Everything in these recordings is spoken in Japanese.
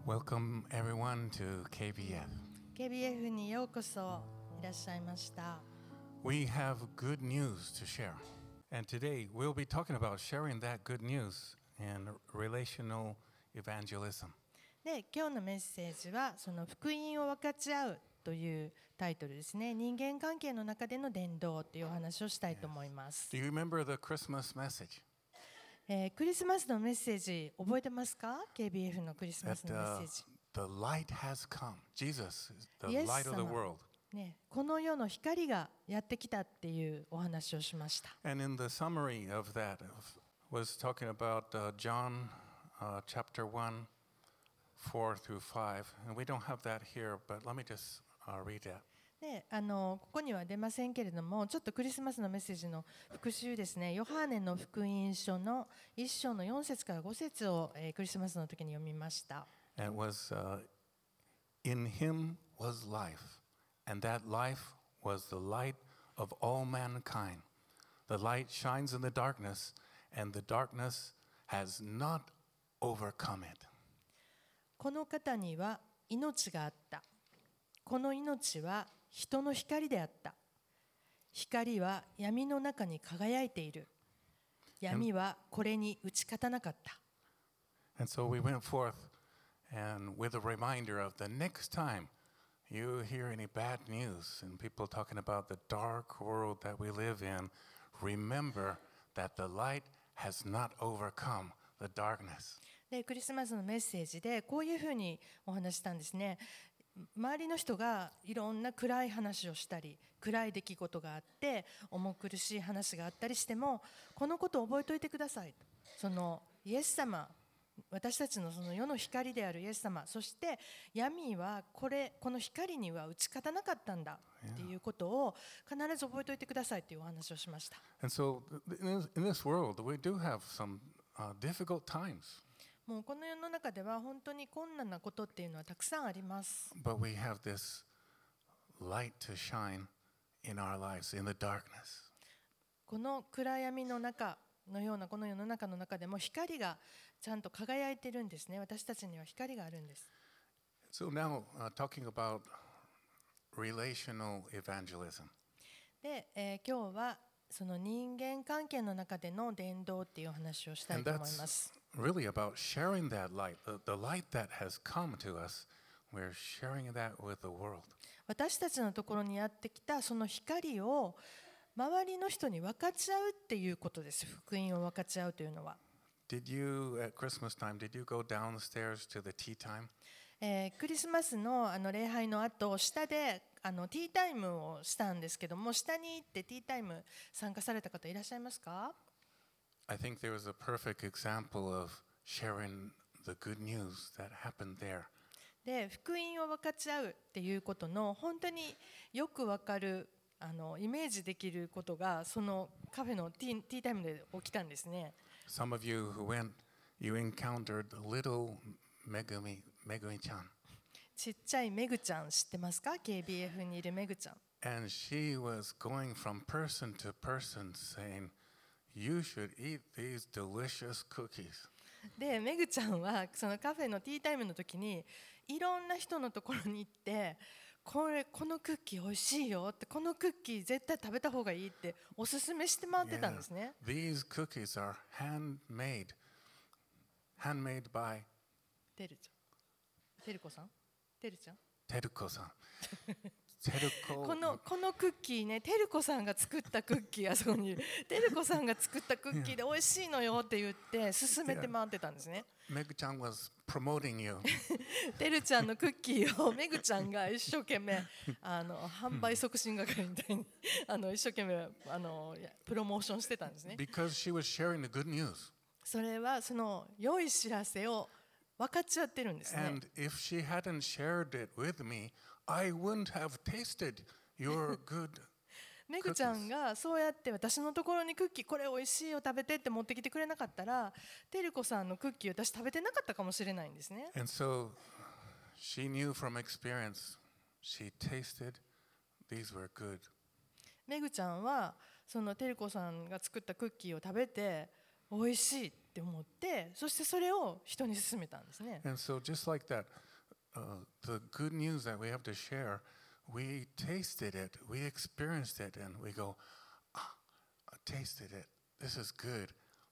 Welcome everyone to KBF. KBF にようこそいらっしゃいました。 We have good news to share. And today we'll be talking about sharing that good news in relational evangelism. で、今日のメッセージはその福音を分かち合うというタイトルですね。人間関係の中での伝道というお話をしたいと思います。 Do you remember the Christmas message? クリスマスのメッセージ覚えてますか？ KBF のクリスマスのメッセージ。 The light has come. Jesus is the イエス light of the 様 world. ね、この世の光がやってきたっていうお話をしました。 And in the summary of that was talking about John chapter 1, 4 through 5. And we don't have that here, but let me just read that. でここには出ませんけれども、ちょっとクリスマスのメッセージの復習ですね。ヨハネの福音書の1章の4節から5節を、クリスマスの時に読みました。 And it was, in him was life, and that life was the light of all mankind. The light shines in the darkness, and the darkness has not overcome it. この方には命があった。この命は人の光であった。光は闇の中に輝いている。闇はこれに打ち勝たなかった。 And so we went forth and with a reminder of the next time you hear any bad news and people talking about the dark world that we live in, remember that the light has not overcome the darkness. で、クリスマスのメッセージでこういうふうにお話したんですね。周りの人がいろんな暗い話をしたり、暗い出来事があって重苦しい話があったりしても、このことを覚えておいてください。そのイエス様、私たちのその世の光であるイエス様、そして闇はこの光には打ち勝たなかったんだっていうことを必ず覚えておいてくださいというお話をしました。 And so in this world we do have some difficult times. もうこの世の中では本当に困難なことっていうのはたくさんあります。 But we have this light to shine in our lives, in the darkness. この暗闇の中のようなこの世の中の中でも光がちゃんと輝いてるんですね。私たちには光があるんです。 So now talking about relational evangelism. で、今日はその人間関係の中での伝道っていう話をしたいと思います。 Really about sharing that light, the light that has come to us, we're sharing that with the world. 私たちのところにやってきたその光を周りの人に分かち合うっていうことです。福音を分かち合うというのは。 Did you at Christmas time, did you go downstairs to the tea time? クリスマスの礼拝の後、下でティータイムをしたんですけども、下に行ってティータイム参加された方いらっしゃいますか？ I think there was a perfect example of sharing the good news that happened there. で、福音を分かち合うっていうことの本当によく分かるイメージできることがそのカフェのティータイムで起きたんですね。 Some of you who went, you encountered little Megumi-chan. ちっちゃいめぐちゃん知ってますか？ KBF にいるめぐちゃん。 And she was going from person to person saying, you should eat these delicious cookies. で、めぐちゃんはそのカフェのティータイムの時にいろんな人のところに行って、このクッキー美味しいよって、このクッキー絶対食べた方がいいっておすすめして回ってたんですね。 These cookies are handmade by てるちゃん、てるこさん、てるちゃん。 Teruko-san. このクッキーね、てるこさんが作ったクッキー、あそこにいるてるこさんが作ったクッキーで美味しいのよって言って勧めて回ってたんですね。 Meg-chan was promoting you. てるちゃんのクッキーをめぐちゃんが一生懸命販売促進係みたいに一生懸命プロモーションしてたんですね。 Because she was sharing the good news. それはその良い知らせを分かっちゃってるんですね。 And if she hadn't shared it with me, I wouldn't have tasted your good めぐちゃんがそうやって私のところにクッキーこれ美味しいよ食べてって持ってきてくれなかったら、てるこさんのクッキー私食べてなかったかもしれないんですね。 And so she knew from experience, she tasted, these were good. めぐちゃんはそのてるこさんが作ったクッキーを食べて、 美味しいって思って、そしてそれを人に勧めたんですね。 And so, just like that, the good news that we have to share, we tasted it, we experienced it, and we go, ah, I tasted it. This is good.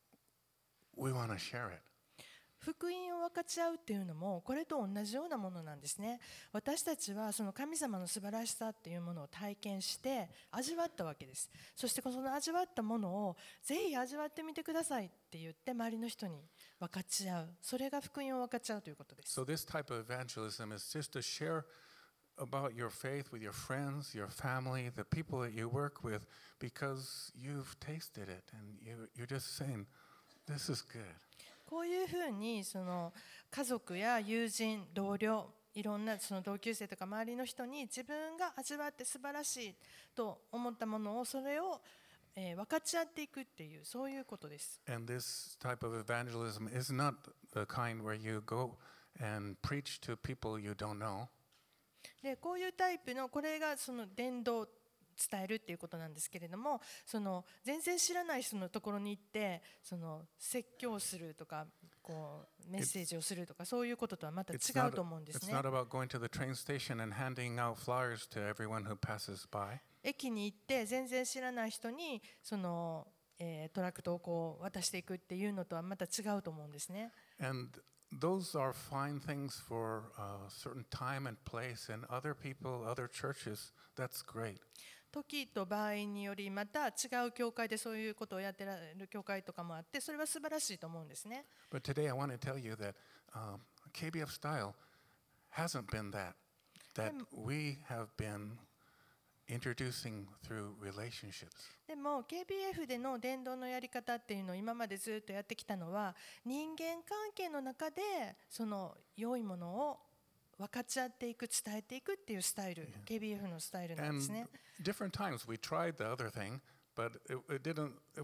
We want to share it. 福音を分かち合うっていうのもこれと同じようなものなんですね。私たちはその神様の素晴らしさっていうものを体験して味わったわけです。そしてその味わったものをぜひ味わってみてくださいって言って周りの人に分かち合う。それが福音を分かち合うということです。 So this type of evangelism is just to share about your faith with your friends, your family, the people that you work with, because you've tasted it and you're just saying, this is good. こういうふうにその家族や友人、同僚、いろんなその同級生とか周りの人に自分が味わって素晴らしいと思ったものをそれを分かち合っていくっていうそういうことです。 And this type of evangelism is not the kind where you go and preach to people you don't know. でこういうタイプのこれがその伝道伝えるっていうことなんですけれども、その全然知らない人のところに行ってその説教するとかこうメッセージをするとかそういうこととはまた違うと思うんですね。 It's not about going to the train station and handing out flyers to everyone who passes by. 駅に行って全然知らない人にその、トラクトをこう渡していくっていうのとはまた違うと思うんですね。 And those are fine things for a certain time and place, and other people, other churches, that's great. 時と場合によりまた違う教会でそういうことをやっている教会とかもあってそれは素晴らしいと思うんですね。 But today I want to tell you that KBF style hasn't been that we have been introducing through relationships. でも KBF での伝道のやり方っていうのを今までずっとやってきたのは人間関係の中でその良いものを分かち合っていく伝えていくっていうスタイル、KBF のスタイルなんですね。 And different times we tried the other thing, but it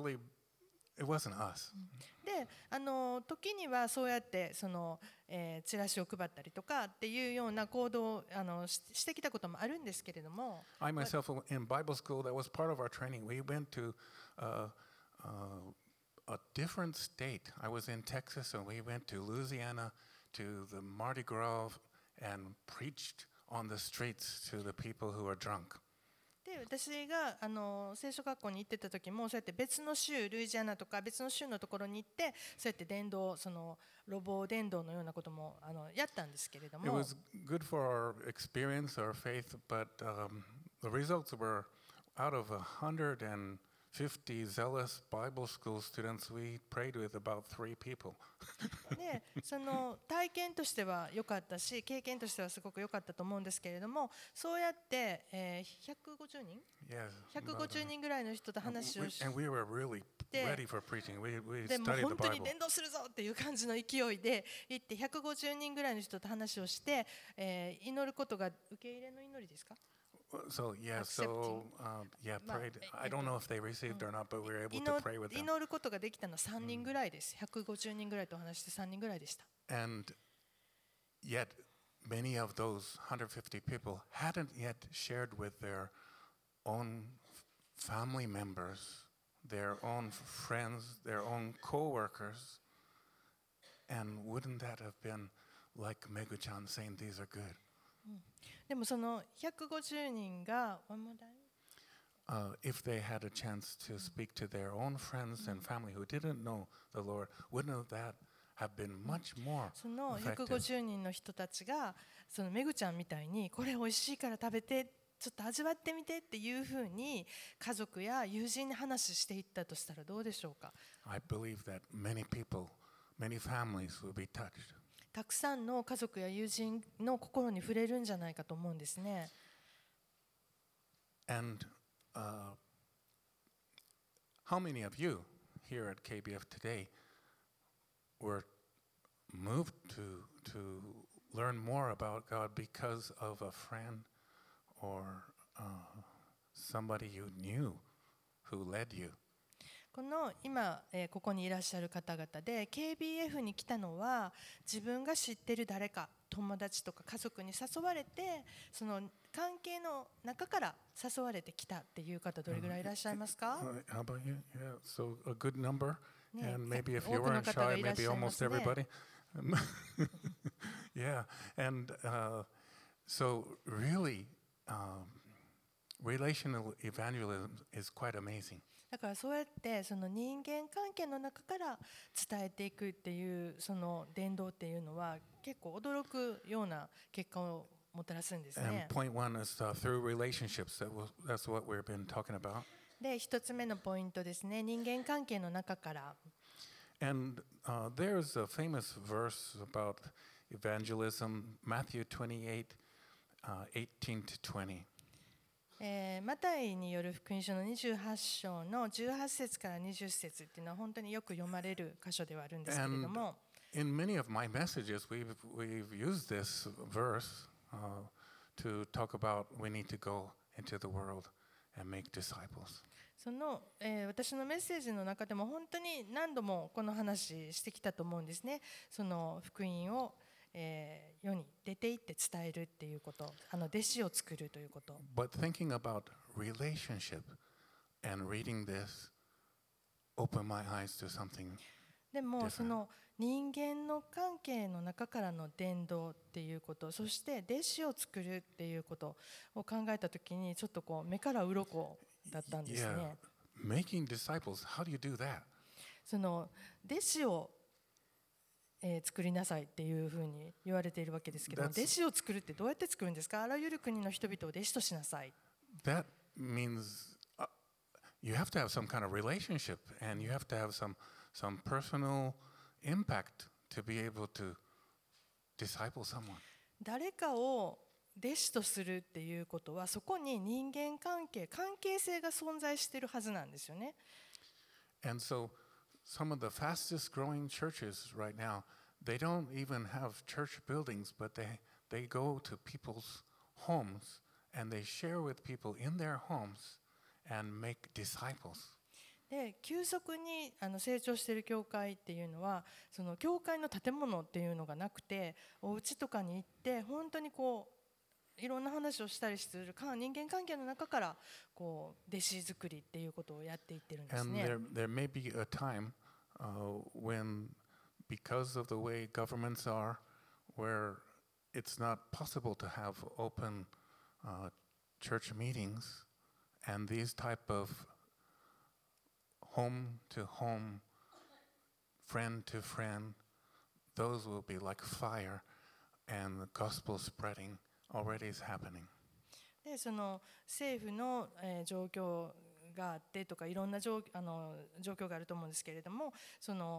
wasn't us. で、時にはそうやってその、チラシを配ったりとかっていうような行動をしてきたこともあるんですけれども。 I myself in Bible school that was part of our training. We went to a different state. I was in Texas and we went to Louisiana to the Mardi Gras and preached on the streets to the people who are drunk. で私が聖書学校に行ってた時もそうやって別の州ルイジアナとか別の州のところに行ってそうやって伝道その路傍伝道のようなこともやったんですけれども。 It was good for our experience, our faith, but the results were out of 150 zealous Bible school students. We prayed with about 3 people. でその体験としては良かったし経験としてはすごく良かったと思うんですけれどもそうやって、150人、150人ぐらいの人と話をして And we were really ready for preaching. We でも studied the 本当に Bible. 伝道するぞっていう感じの勢いで行って150人ぐらいの人と話をして、祈ることが受け入れの祈りですか So prayed. I don't know if they received or not, but we were able to pray with them. 祈ることができたのは3人ぐらいです。150人ぐらいと話して3人ぐらいでした。 And yet, many of those 150 people hadn't yet shared with their own family members, their own friends, their own co-workers. And wouldn't that have been like Megu-chan saying these are good? でもその150人が if they had a chance to speak to their own friends and family who didn't know the Lord, wouldn't that have been much more その effective? 150人の人たちがそのめぐちゃんみたいにこれ美味しいから食べてちょっと味わってみてっていうふうに家族や友人に話していったとしたらどうでしょうか。 I believe that many people, many families will be touched. たくさんの家族や友人の心に触れるんじゃないかと思うんですね。 And how many of you here at KBF today were moved to learn more about God because of a friend or somebody you knew who led you? この今、ここにいらっしゃる方々で KBF に来たのは自分が知っている誰か友達とか家族に誘われてその関係の中から誘われてきたっていう方どれぐらいいらっしゃいますか？ How about you? Yeah, so a good number. ね、 And maybe if 多 you くの weren't 方が shy, いらっ maybe しゃいま almost すね。 everybody. Yeah, and so really, relational evangelism is quite amazing. だからそうやってその人間関係の中から伝えていくっていうその伝道っていうのは結構驚くような結果をもたらすんです And ね。 point one is through relationships. That's what we've been talking about. で、一つ目のポイントですね。人間関係の中から。 And there's a famous verse about evangelism, Matthew 28, 18 to 20. マタイによる福音書の28章の18節から20節っていうのは本当によく読まれる箇所ではあるんですけれども、 In many of my messages, we've used this verse to talk about we need to go into the world and make disciples. その、私のメッセージの中でも本当に何度もこの話してきたと思うんですね。その福音を、世に出て行って伝えるっていうこと、弟子を作るということ。 But thinking about relationship and reading this opened my eyes to something. でも different. その人間の関係の中からの伝道っていうこと、そして弟子を作るっていうことを考えたときにちょっとこう目から鱗だったんです Yeah, ね。 making disciples, how do you do that? その弟子を、作りなさいっていうふうに言われているわけですけども、 That's- 弟子を作るってどうやって作るんですか？あらゆる国の人々を弟子としなさい。 That means you have to have some kind of relationship and you have to have some personal impact to be able to disciple someone. 誰かを弟子とするっていうことはそこに人間関係性が存在しているはずなんですよね。 And so some of the fastest growing churches right now, they don't even have church buildings, but they go to people's homes and they share with people in their homes and make disciples. で、急速に成長している教会っていうのはその教会の建物っていうのがなくて、お家とかに行って本当にこういろんな話をしたりする人間関係の中からこう弟子作りっていうことをやっていってるんです And ね。 there may be a time when, because of the way governments are, where it's not possible to have open church meetings, and these type of home to home, friend to friend, those will be like fire, and the gospel spreading already is happening. で、その政府の、状況があってとかいろんな状況があると思うんですけれども、その、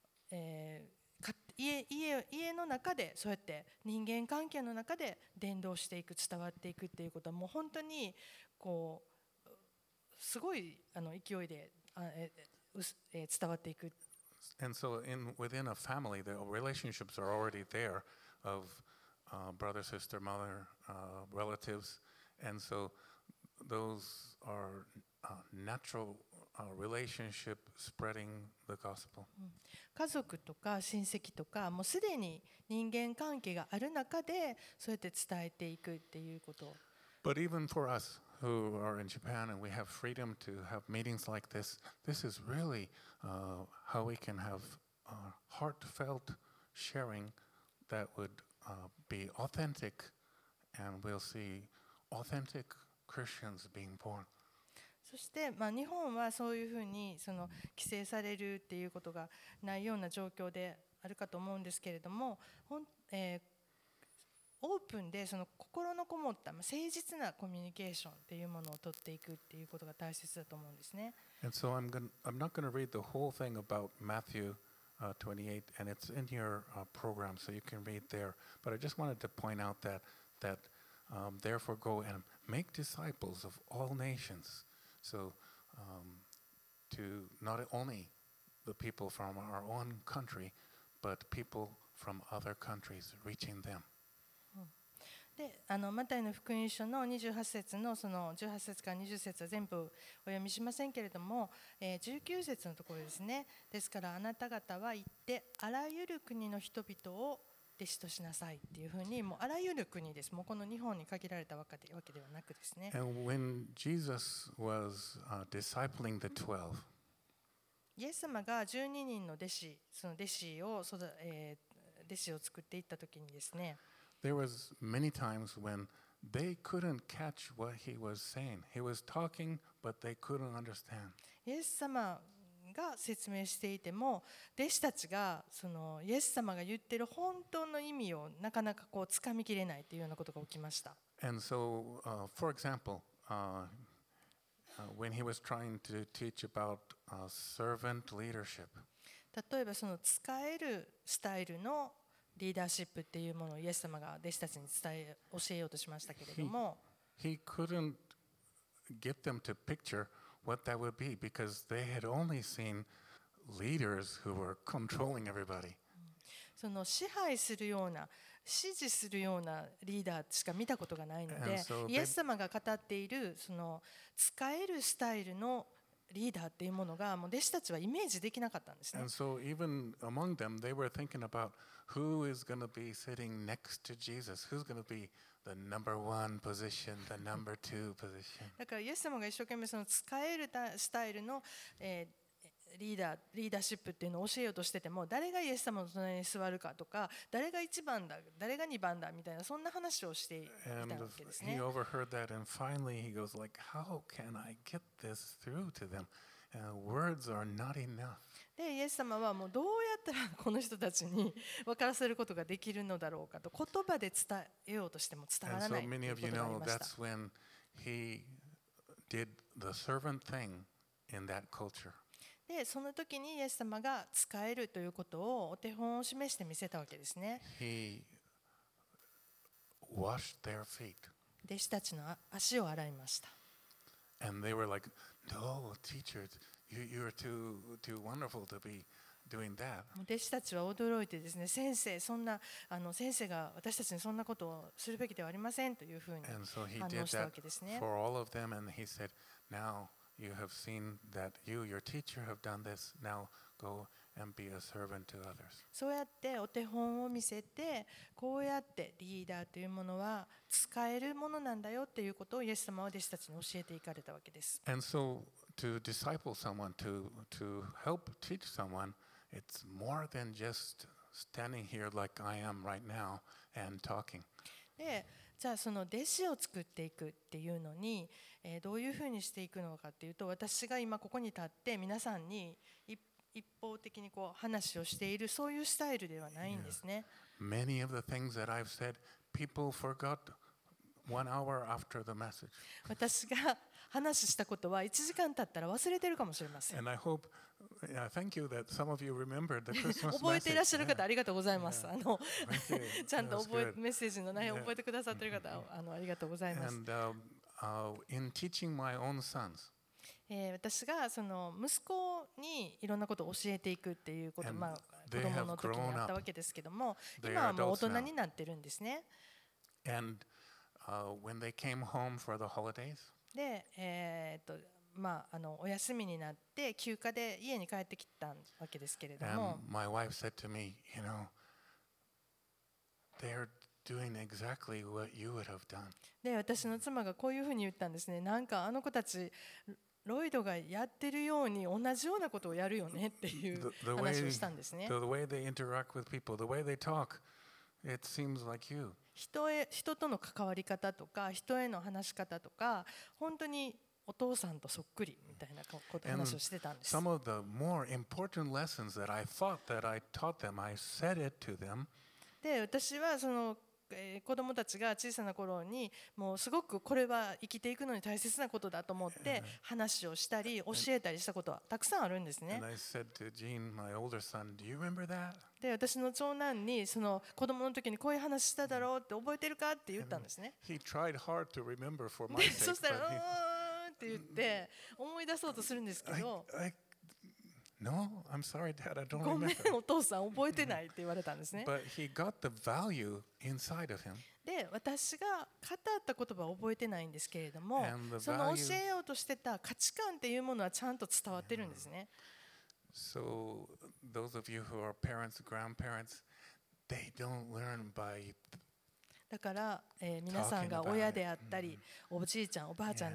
家の中でそうやって人間関係の中で伝道していく、伝わっていくっていうことはもう本当にこうすごい勢いで伝わっていく。 And so within a family, the relationships are already there of brother, sister, mother, relatives. And so those are natural relationship spreading the gospel. 家族とか親戚とかもうすでに人間関係がある中でそうやって伝えていくっていうこと。 But even for us who are in Japan and we have freedom to have meetings like this, this is really how we can have heartfelt sharing that would be authentic, and we'll see authentic Christians being born. そして、日本はそういうふうにその規制されるっていうことがないような状況であるかと思うんですけれども、オープンでその心のこもった誠実なコミュニケーションっていうものを取っていくっていうことが大切だと思うんですね。 And so I'm not going to read the whole thing about Matthew 28, and it's in your program, so you can read there. But I just wanted to point out that therefore go and make disciples of all nations. So to not only the people from our own country, but people from other countries, reaching them. で、マタイの福音書の28節のその18節から20節は全部お読みしませんけれども、19節のところですね。ですからあなた方は行ってあらゆる国の人々を弟子としなさいっていうふうに、もうあらゆる国です。もうこの日本に限られたわけではなくですね。 And when Jesus was discipling the 12, イエス様が12人の弟子、その弟子を作っていった時にですね、 there was many times when they couldn't catch what he was saying. He was talking, but they couldn't understand. イエス様が説明していても、弟子たちがそのイエス様が言っている本当の意味をなかなかこう掴みきれないというようなことが起きました。 And so, for example, when he was trying to teach about servant leadership, 例えばその使えるスタイルのリーダーシップっていうものをイエス様が弟子たちに教えようとしましたけれども、 he couldn't get them to picture what that would be because they had only seen leaders who were controlling everybody. その支配するような指示するようなリーダーしか見たことがないので、イエス様が語っているその使えるスタイルのリーダーっていうものがもう弟子たちはイメージできなかったんですね。 And so even among them, they were thinking about who is going to be sitting next to Jesus, who's going to be the number one position, the number two position. だからイエス様が一生懸命その使えるスタイルの、リーダーシップっていうのを教えようとしてても、誰がイエス様の隣に座るかとか、誰が1番だ、誰が2番だみたいなそんな話をしていたわけですね。 And he overheard that, and finally he goes like, "How can I get this through to them? Words are not enough." でイエス様はもうどうやったらこの人たちに分からせることができるのだろうかと、言葉で伝えようとしても伝わ And ら so ないとい many う of こ you とがあり know ました。 that's when he did the servant thing in that culture. でその時にイエス様が使えるということをお手本を示して見せたわけですね。 He washed their feet. 弟子たちの足を洗いました。 And they were like, "No, teacher, you're too wonderful to be doing that." 弟子たちは驚いてですね、先生が私たちにそんなことをするべきではありませんというふうに And so he 反 did 応したわ that けですね。 for all of them, and he said, "Now you have seen that your teacher have done this. Now go and be a servant to others." そうやってお手本を見せて、こうやってリーダーというものは使えるものなんだよっていうことをイエス様は弟子たちに教えていかれたわけです。 And so to disciple someone, to help teach someone, it's more than just standing here like I am right now and talking. でじゃあその弟子を作っていくっていうのに、どういうふうにしていくのかっていうと、私が今ここに立って皆さんに一方的にこう話をしているそういうスタイルではないんですね。 Many of the things that I've said, people forgot 1 hour after the message. 私が話したことは1時間経ったら忘れてるかもしれません。 And I hope, thank you that some of you remembered the Christmas 覚えていらっしゃる message. 方ありがとうございます。 Thank you. ちゃんと That was good. メッセージの内容を覚えてくださっている方、ありがとうございます。 And in teaching my own sons, 私がその息子にいろんなことを教えていくっていうこと、 And 子 they 供 have の時に grown あった up. わけですけども、 They 今 are はもう大 adults 人 now. になってるんですね。 And when they came home for the holidays, で、お休みになって休暇で家に帰ってきたわけですけれど and も、 my wife said to me, they're doing exactly what you would have done. で私の妻がこういうふうに言ったんですね。なんかあの子たちロイドがやってるように同じようなことをやるよねっていう The 話をしたんですね。 way they interact with people, the way they talk, it seems like you. 人との関わり方とか人への話し方とか本当にお父さんとそっくりみたいな話をしてたんです。 Some of the more important lessons that I thought that I taught them, I said it to them. で私はその子供たちが小さな頃にもうすごくこれは生きていくのに大切なことだと思って話をしたり教えたりしたことはたくさんあるんですね。 And I said to Gene, my older son, "Do you remember that?" で私の長男にその子供の時にこういう話しただろうって覚えてるかって言ったんですね。 He tried hard to remember for my で sake, そしたらう but ーんって言って思い出そうとするんですけど、 no, I'm sorry, Dad, I don't ごめん remember. お父さん覚えてないって言われたんですね。 But he got the value inside of him. で私が語った言葉は覚えてないんですけれども And the その value- 教えようとしてた価値観っていうものはちゃんと伝わってるんですね。 So those of you who are parents, grandparents, they don't learn by だから、皆さんが親であったりおじいちゃんおばあちゃんであっ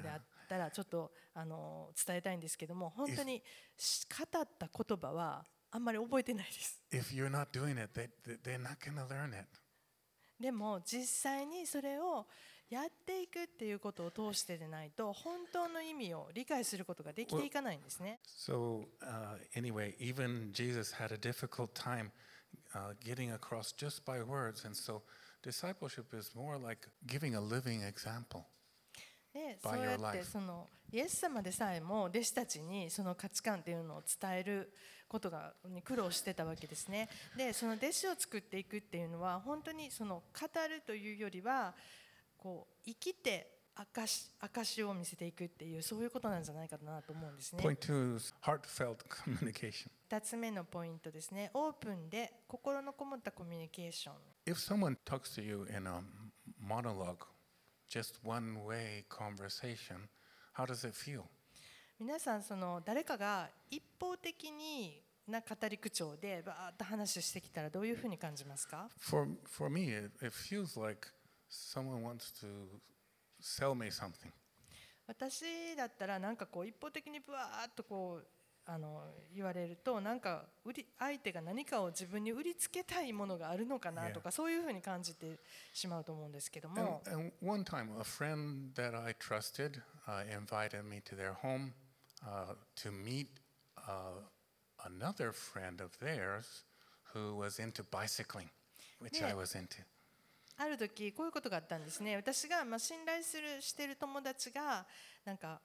たらちょっと伝えたいんですけども、本当に語った言葉はあんまり覚えてないです。 If you're not doing it, they're not going to learn it. でも実際にそれをやっていくっていうことを通してでないと本当の意味を理解することができていかないんですね。 So anyway, even Jesus had a difficult time getting across just by words, and so discipleship is more like giving a living example で、そ by うや your って life. イエス様でさえも弟子たちにその価値観っていうのを伝えることに苦労してたわけですね。で、その弟子を作っていくっていうのは本当にその語るというよりはこう生きて証を見せていくっていうそういうことなんじゃないかなと思うんですね。 Point two is heartfelt communication. 2つ目のポイントですね。オープンで心のこもったコミュニケーション。 If someone talks to you in a monologue, just one way conversation, how does it feel? 皆さん誰かが一方的にな語り口調でバーッと話してきたらどういうふうに感じますか？ For me, it feels like someone wants to sell me something. 私だったらなんかこう一方的にブワーッとこう言われるとなんか相手が何かを自分に売りつけたいものがあるのかなとかそういうふうに感じてしまうと思うんですけども。 And one time, a friend that I trusted invited me to their home to meet another friend of theirs who was into bicycling, which I was into. ある時こういうことがあったんですね。私が信頼している友達がなんか、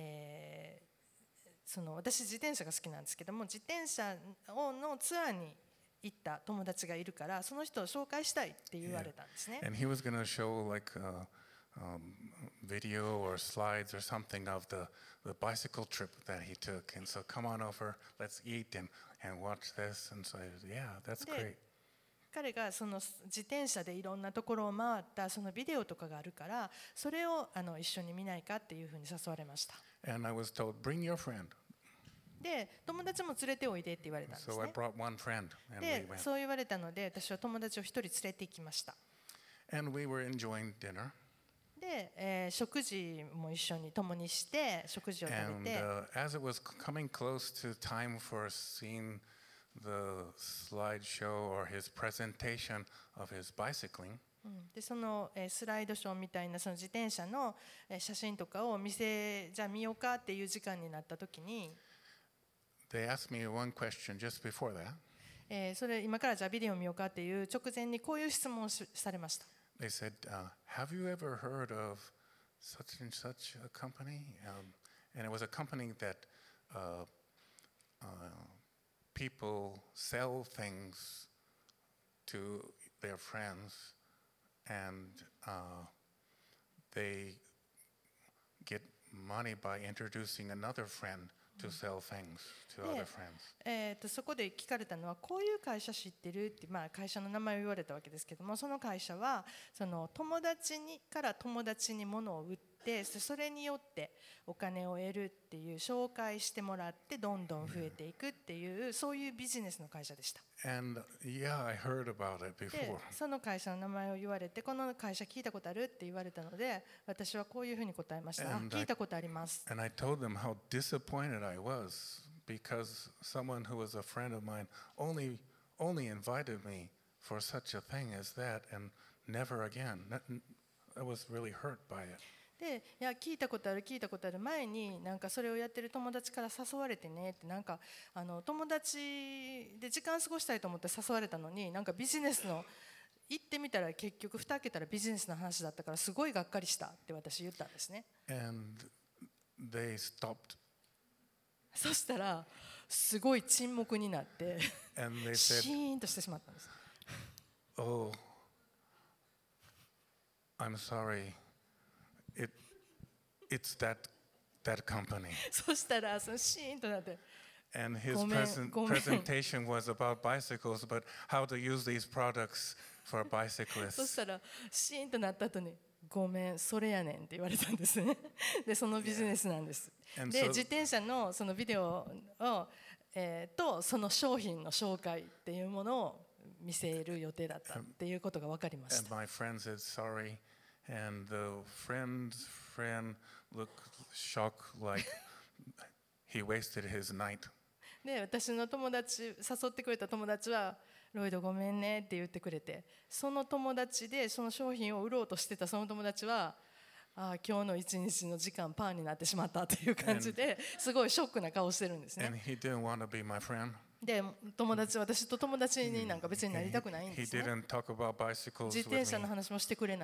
私自転車が好きなんですけども自転車のツアーに行った友達がいるからその人を紹介したいって言われたんですね。 And he was going to show like video or slides or something of the bicycle trip that he took. And so come on over, let's eat and watch this. And so, yeah, that's great. 彼がその自転車でいろんなところを回ったそのビデオとかがあるからそれを一緒に見ないかっていうふうに誘われました。 And I was told, bring your friend. で、友達も連れておいでって言われたんです So I ね。 brought one friend and we で、 went. そう言われたので私は友達を一人連れて行きました。 And we were enjoying dinner. で、食事も一緒に共にして食事を食 And べて、 as it was coming close to time for seeing the slideshow or his presentation of his bicycling, でそのスライドショーみたいなその自転車の写真とかをじゃあ見ようかっていう時間になった時に、 they asked me one question just before that. それ今からじゃあビデオ見ようかっていう直前にこういう質問をされました。 They said, have you ever heard of such and such a company? And it was a company that people sell things to their friends and they get money by introducing another friend to sell things to other friends. そこで聞かれたのはこういう会社知ってるって、会社の名前を言われたわけですけどもその会社はその友達から友達に物を売ってそれによってお金を得るっていう紹介してもらってどんどん増えていくっていうそういうビジネスの会社でした。 And yeah, I heard about it で before. その会社の名前を言われてこの会社聞いたことあるって言われたので私はこういうふうに答えました。 And 聞いたことあります。 And I told them how disappointed I was because someone who was a friend of mine only invited me for such a thing as that and never again. I was really hurt by it. でいや聞いたことある前になんかそれをやってる友達から誘われてねってなんか友達で時間過ごしたいと思って誘われたのになんかビジネスの行ってみたら結局蓋開けたらビジネスの話だったからすごいがっかりしたって私言ったんですね。 And they stopped そしたらすごい沈黙になって and they シ said, ーンとしてしまったんです。 "Oh, I'm sorry. It's that company." そしたらそのシーンとなって And his ごめん。 presentation was about bicycles, but how to use these products for そ bicyclists. したらシーンとなった後にごめんそれやねんって言われたんですね。でそのビジネスなんです。 And で so- 自転車のそのビデオを、とその商品の紹介っていうものを見せる予定だったっていうことが分かりまし And た。 my friend said sorry, and the friend's friend looked shocked like he wasted his night. で、私の友達、誘ってくれた友達は、ロイドごめんねって言ってくれて、その友達でその商品を売ろうとしてたその友達は、ああ、今日の一日の時間パンになってしまったっていう感じですごいショックな顔してるんですね。 And he didn't want to be my friend. で、私と友達になんか別になりたくないん He ですね。 didn't talk about bicycles 自 with 転車の me. 話もしてくれない。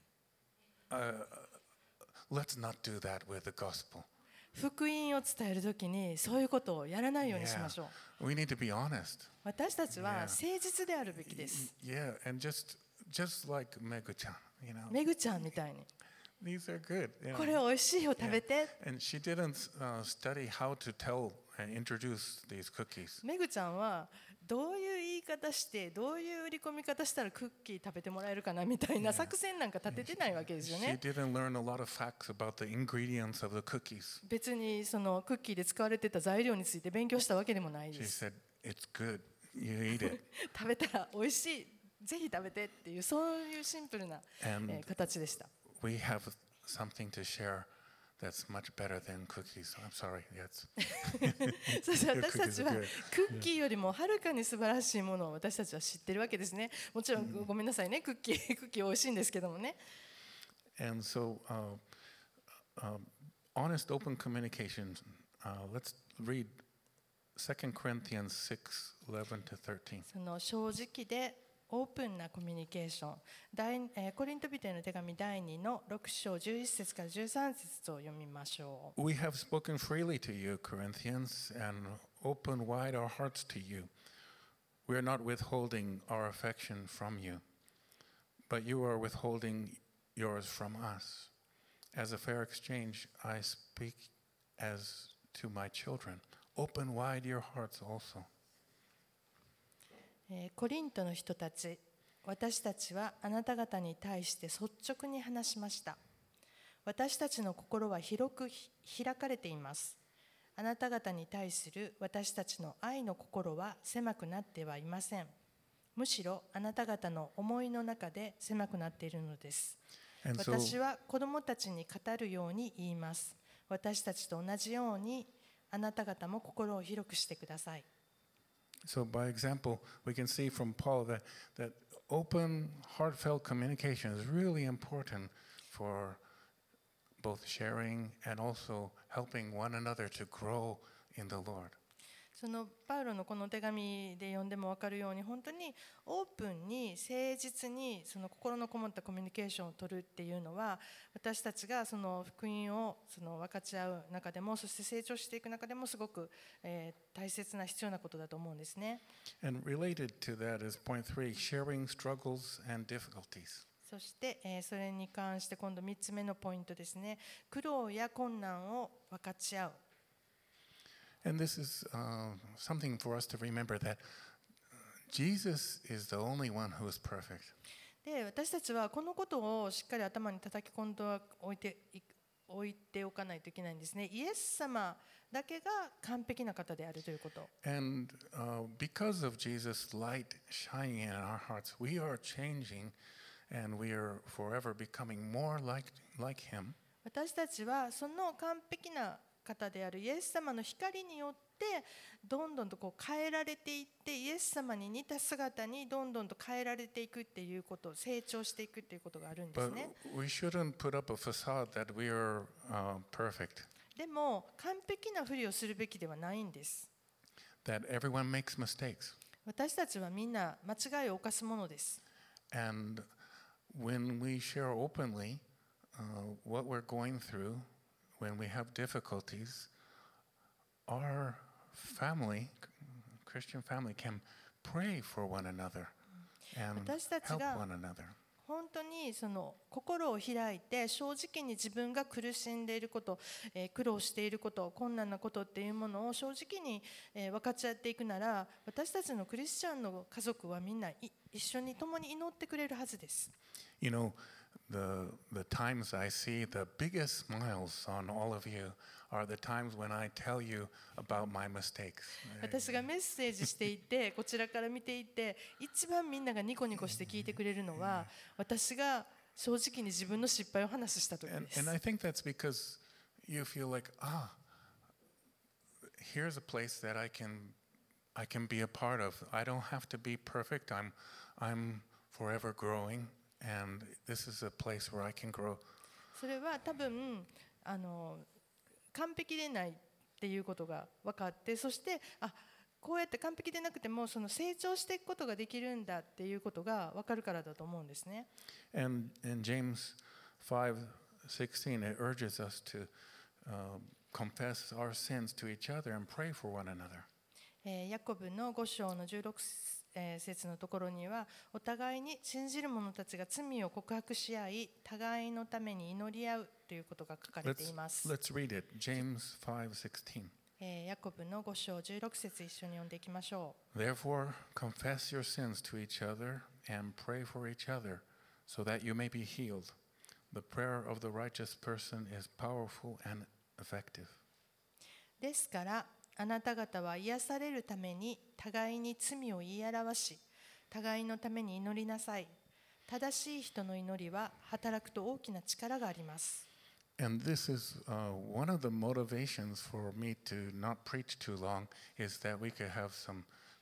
Let's not do that with the gospel. 福音を伝えるときにそういうことをやらないようにしましょう。 We need to be honest. 私たちは誠実であるべきです。 Yeah, and just like Megu-chan, めぐちゃんみたいに、 these are good. これ美味しいよ、食べて。 And she didn't study how to tell and introduce these cookies. めぐちゃんはどういう言い方してどういう売り込み方したらクッキー食べてもらえるかなみたいな作戦なんか立ててないわけですよ She ね。 didn't learn a lot of facts about the ingredients of the cookies. 別にそのクッキーで使われてた材料について勉強したわけでもないで She す。 said, "It's good. You eat it." 食べたら美味しい、ぜひ食べてっていうそういうシンプルな、 And 形でした。 we have something to share that's much better than cookies. I'm sorry. Yes. そして私たちは Cookies are good. クッキーよりもはるかに素晴らしいものを私たちは知ってるわけですね。もちろんごめんなさいね、クッキー美味しいんですけどもね。 And so, honest, open communication. Let's read 2 Corinthians 6:11 to 13. その正直でオープンなコミュニケーション、コリント人への手紙第2の6章11節から13節を読みましょう。 We have spoken freely to you, Corinthians, and opened wide our hearts to you. We are not withholding our affection from you, but you are withholding yours from us. As a fair exchange, I speak as to my children. Open wide your hearts also. コリントの人たち、私たちはあなた方に対して率直に話しました。私たちの心は広く開かれています。あなた方に対する私たちの愛の心は狭くなってはいません。むしろあなた方の思いの中で狭くなっているのです。 And so, 私は子供たちに語るように言います。私たちと同じようにあなた方も心を広くしてください。 so by example, we can see from Paul that open, heartfelt communication is really important for both sharing and also helping one another to grow in the Lord. そのパウロのこの手紙で読んでも分かるように、本当にオープンに誠実にその心のこもったコミュニケーションを取るっていうのは、私たちがその福音をその分かち合う中でも、そして成長していく中でもすごく、大切な必要なことだと思うんですね。 And related to that is point 3, sharing struggles and difficulties. そして、それに関して今度3つ目のポイントですね。苦労や困難を分かち合う。 And this is something for us to remember that Jesus is the only one who is perfect. で、私たちはこのことをしっかり頭に叩き込んでおいておかないといけないんですね。イエス様だけが完璧な方であるということ。 And because of Jesus' light shining in our hearts, we are changing and we are forever becoming more like Him. 私たちはその完璧な方であるイエス様の光によってどんどんとこう変えられていって、イエス様に似た姿にどんどんと変えられていくっていうこと、成長していくっていうことがあるんです But ね。 we shouldn't put up a facade that we are perfect, でも完璧なふりをするべきではないんです。 that everyone makes mistakes. 私たちはみんな間違いを犯すものです。 And when we share openly what we're going through, when we have difficulties, our family, Christian family, can pray for one another and 私たち help が one another. 本当にその心を開いて正直に自分が苦しんでいること、苦労していること、困難なことっていうものを正直に分かち合っていくなら、私たちのクリスチャンの家族はみんな一緒に共に祈ってくれるはずです。 You know, the times I see the biggest smiles on all of you are the times when I tell you about my mistakes. 私がメッセージしていて、こちらから見ていて、一番みんながニコニコして聞いてくれるのは、私が正直に自分の失敗を話した時 And, です。 and I think that's because you feel like, here's a place that I can be a part of. I don't have to be perfect. I'm forever growing, and this is a place where I can grow. それは多分完璧でないっていうことが分かって、そしてこうやって完璧でなくてもその成長していくことができるんだっていうことが分かるからだと思うんですね。 And in James 5:16, it urges us to confess our sins to each other and pray for one another. ヤコブの5章の16節のところには、お互いに信じる者たちが罪を告白し合い、互いのために祈り合うということが書かれています。 Let's read it. James 5:16. ヤコブの5章16節一緒に読んでいきましょう。 Therefore, confess your sins to each other and pray for each other, so that you may be healed. The prayer of the righteous person is powerful and effective. ですからあなた方は癒されるために互いに罪を言い表し、互いのために祈りなさい。正しい人の祈りは働くと大きな力があります。 And this is one of the motivations for me to not preach too long, is that we could have some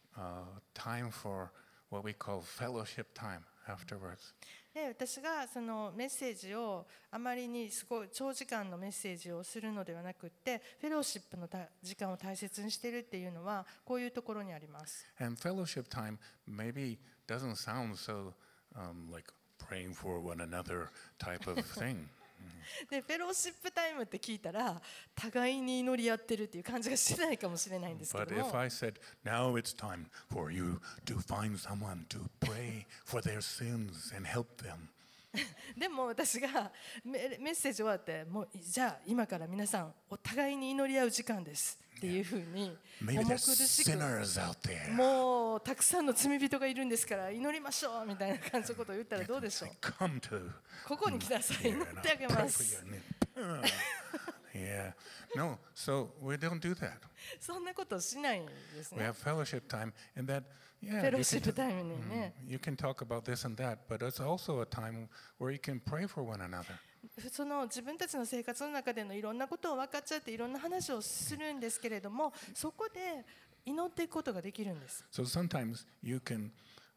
time for what we call fellowship time afterwards. で、私がそのメッセージをあまりにすごい長時間のメッセージをするのではなくって、フェローシップの時間を大切にしているっていうのはこういうところにあります。 And fellowship time maybe doesn't sound so like praying for one another type of thing. で、フェローシップタイムって聞いたら互いに祈り合ってるっていう感じがしないかもしれないんですけ But ども、 if I said, now it's time for you to find someone to pray for their sins and help them. でも私がメッセージ終わってもうじゃあ今から皆さんお互いに祈り合う時間ですっていうふうに Maybe 重苦 there's しく sinners out there. もうたくさんの罪人がいるんですから祈りましょうみたいな感じのことを言ったらどうでしょう。 Come to ここに来なさい、 here 祈 and って I'll あげ pray ま for す。 you. Yeah. No, so we don't do that. そんなことしないんです We ね。 have fellowship time, and that, フ yeah, ェロー you シッ can, プタイムにね、 you can talk about this and that, but it's also a time where you can pray for one another. その自分たちの生活の中でのいろんなことを分かっちゃっていろんな話をするんですけれども、そこで祈っていくことができるんです。 So sometimes you can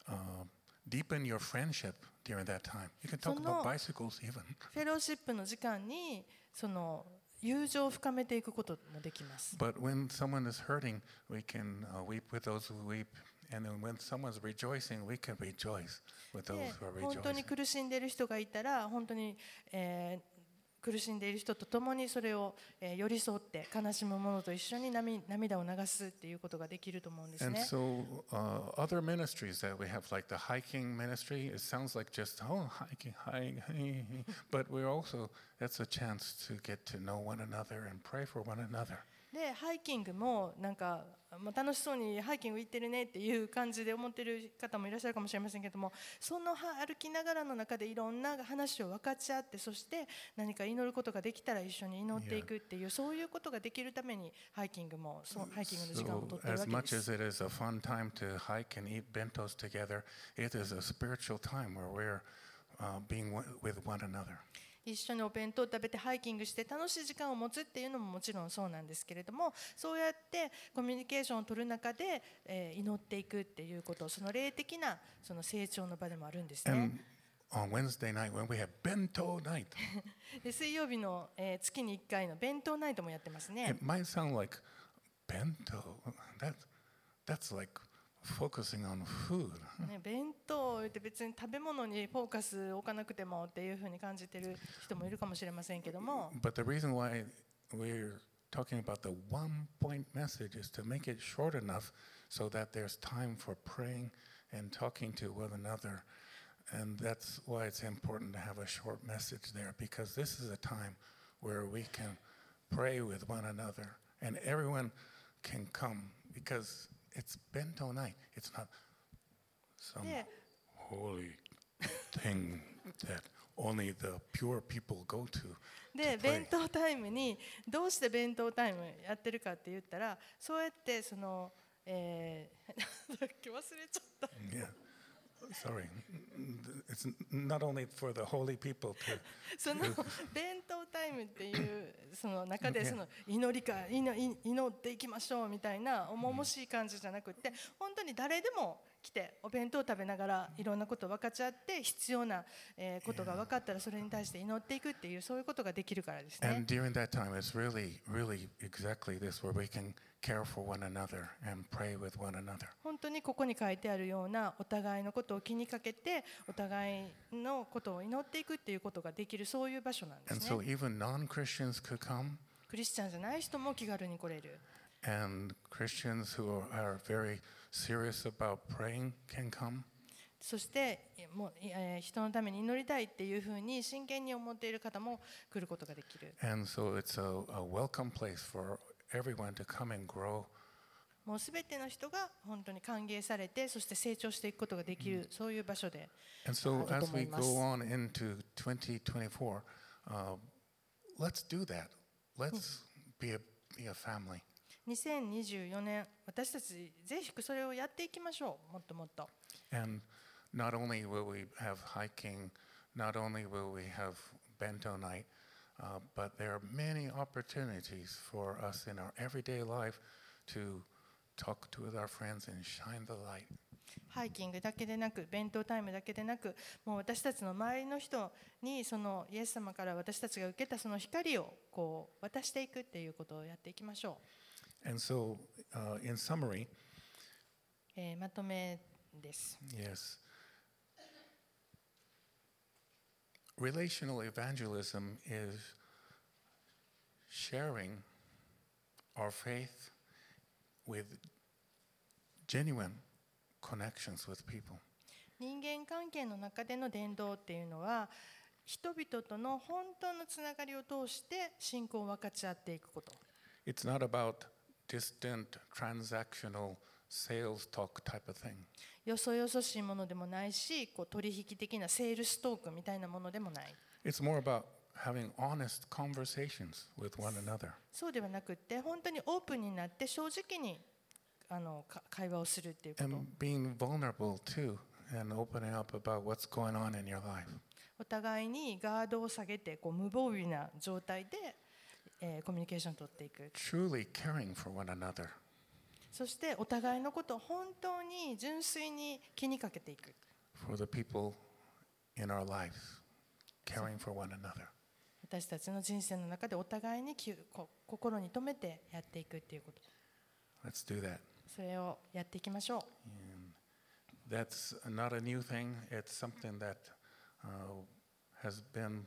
deepen your friendship during that time. You can talk about bicycles even. フェローシップの時間にその友情を深めていくこともできます。 But when someone is hurting, we can weep with those who weep. And then when someone's rejoicing, we can rejoice with those で who are 本当に rejoicing. 苦しんでいる人がいたら本当に、苦しんでいる人と共にそれを、寄り添って悲しむ者と一緒に涙を流すっていうことができると思うんです And ね。 so other ministries that we have, like the hiking ministry, it sounds like just, hiking. But we're also, that's a chance to get to know one another and pray for one another. でハイキングもなんかもう楽しそうにハイキング行ってるねっていう感じで思ってる方もいらっしゃるかもしれませんけども、その歩きながらの中でいろんな話を分かち合って、そして何か祈ることができたら一緒に祈っていくっていう、そういうことができるためにハイキングの時間を取っている So わ as けで much す。 as it is a fun time to hike and eat bentos together, it is a spiritual time where we're being with one another. 一緒にお弁当を食べてハイキングして楽しい時間を持つっていうのももちろんそうなんですけれども、そうやってコミュニケーションを取る中で、祈っていくっていうこと、その霊的なその成長の場でもあるんですね。 And on Wednesday night when we have bento night, で水曜日の、月に1回の弁当ナイトもやってますね。 it might sound like bento. That's like focusing on food. ね、弁当を言って別に食べ物にフォーカスを置かなくてもっていうふうに感じてる人もいるかもしれませんけども、 But the reason why we're talking about the one-point message is to make it short enough so that there's time for praying and talking to one another. And that's why it's important to have a short message there, because this is a time where we can pray with one another and everyone can come, because it's bento night. It's not some Yeah. holy thing that only the pure people go to. で to pray. 弁当タイムにどうして弁当タイムやってるかって言ったら、そうやってその、忘れちゃった。 Yeah. sorry, it's not only for the holy people to その弁当タイムっていうその中で Yeah. その祈っていきましょうみたいな重々しい感じじゃなくって本当に誰でも来てお弁当を食べながらいろんなことを分かち合って必要なことが分かったらそれに対して祈っていくっていうそういうことができるからですね。 And during that time, it's really, really exactly this, where we can care for one another and pray with one another. 本当にここに書いてあるようなお互いのことを気にかけてお互いのことを祈っていくっていうことができるそういう場所なんで And す so ね。 even non-Christians could come, クリスチャンじゃない人も気軽に来れる。 and Christians who are very serious about praying can come. そしてもう人のために祈りたいっていうふうに真剣に思っている方も来ることができる。 And so it's a welcome place for everyone to come and grow. もうすべての人が本当に歓迎されてそして成長していくことができるそういう場所で And so あると as 思い we ます。 go on into 2024, let's do that. Let's be a family. 2024年私たちぜひそれをやっていきましょう。もっともっと。 And not only will we have hiking, not only will we have bento night, but there are many opportunities for us in our everyday life to talk to with our friends and shine the light. ハイキングだけでなく弁当タイムだけでなくもう私たちの周りの人にそのイエス様から私たちが受けたその光をこう渡していくっていうことをやっていきましょ And so, in summary, う。まとめです。 yes, relational evangelism is sharing our faith with genuine connections with people. 人間関係の中での伝道っていうのは人々との本当のつながりを通して信仰を分かち合っていくこと。 It's not about distant transactional sales talk type of thing. よそよそしいものでもないしこう取引的なセールストークみたいなものでもない。 It's more about having honest conversations with one another. そうではなくって本当にオープンになって正直に会話をするっていうこと。 And being vulnerable too and opening up about what's going on in your life. お互いにガードを下げてこう無防備な状態で、コミュニケーションを取っていく。 Truly caring for one another. そしてお互いのことを本当に純粋に気にかけていく。 For the people in our lives, caring for one another. 私たちの人生の中でお互いに心に留めてやっていくっていうこと。 Let's do that. それをやっていきましょう。 And that's not a new thing. It's something that has been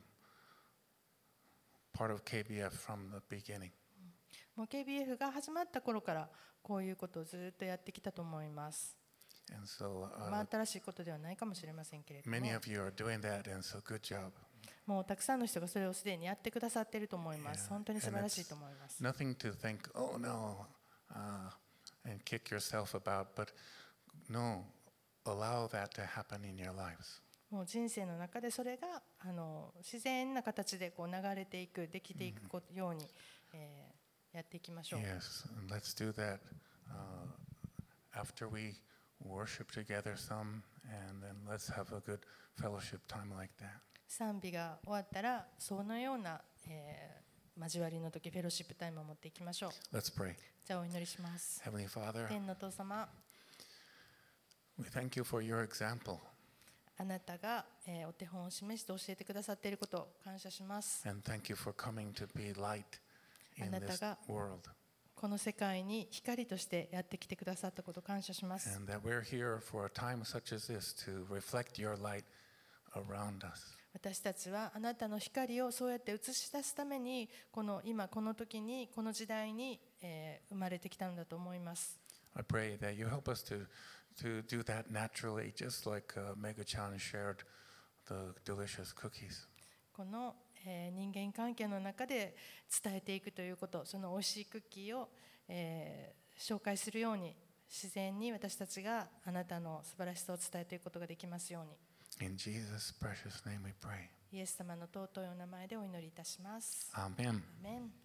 part of KBF from the beginning. もう KBF が始まった頃からこういうことをずっとやってきたと思います。 And so 新しいことではないかもしれませんけれども、 many of you are doing that, and so good job. もうたくさんの人がそれをすでにやってくださっていると思います。 Yeah. 本当に素晴 And らしい it's と思います。 nothing to think, oh no, and kick yourself about, but no, allow that to happen in your lives. もう人生の中でそれが自然な形でこう流れていく、できていくように、やっていきましょう。 Yes, and let's do that after we worship together some, and then let's have a good fellowship time like that. 賛美が終わったらそのような、交わりの時フェロシップタイムを持っていきましょう。 Let's pray. じゃあお祈りします。 Heavenly Father, 天のお父様、 we thank you for your example, あなたが、お手本を示して教えてくださっていることを感謝します。 and thank you for coming to be light in this world, この世界に光としてやってきてくださったことを感謝します。 and that we're here for a time such as this to reflect your light around us. 私たちはあなたの光をそうやって映し出すために今この時にこの時代に、生まれてきたのだと思います。 I pray that you help us to do that naturally, just like Mega-chan shared the delicious cookies. この、人間関係の中で伝えていくということ、その美味しいクッキーを、紹介するように自然に私たちがあなたの素晴らしさを伝えていくことができますように。 In Jesus' precious name we pray. イエス様の尊いお名前でお祈りいたします。 Amen. アーメン。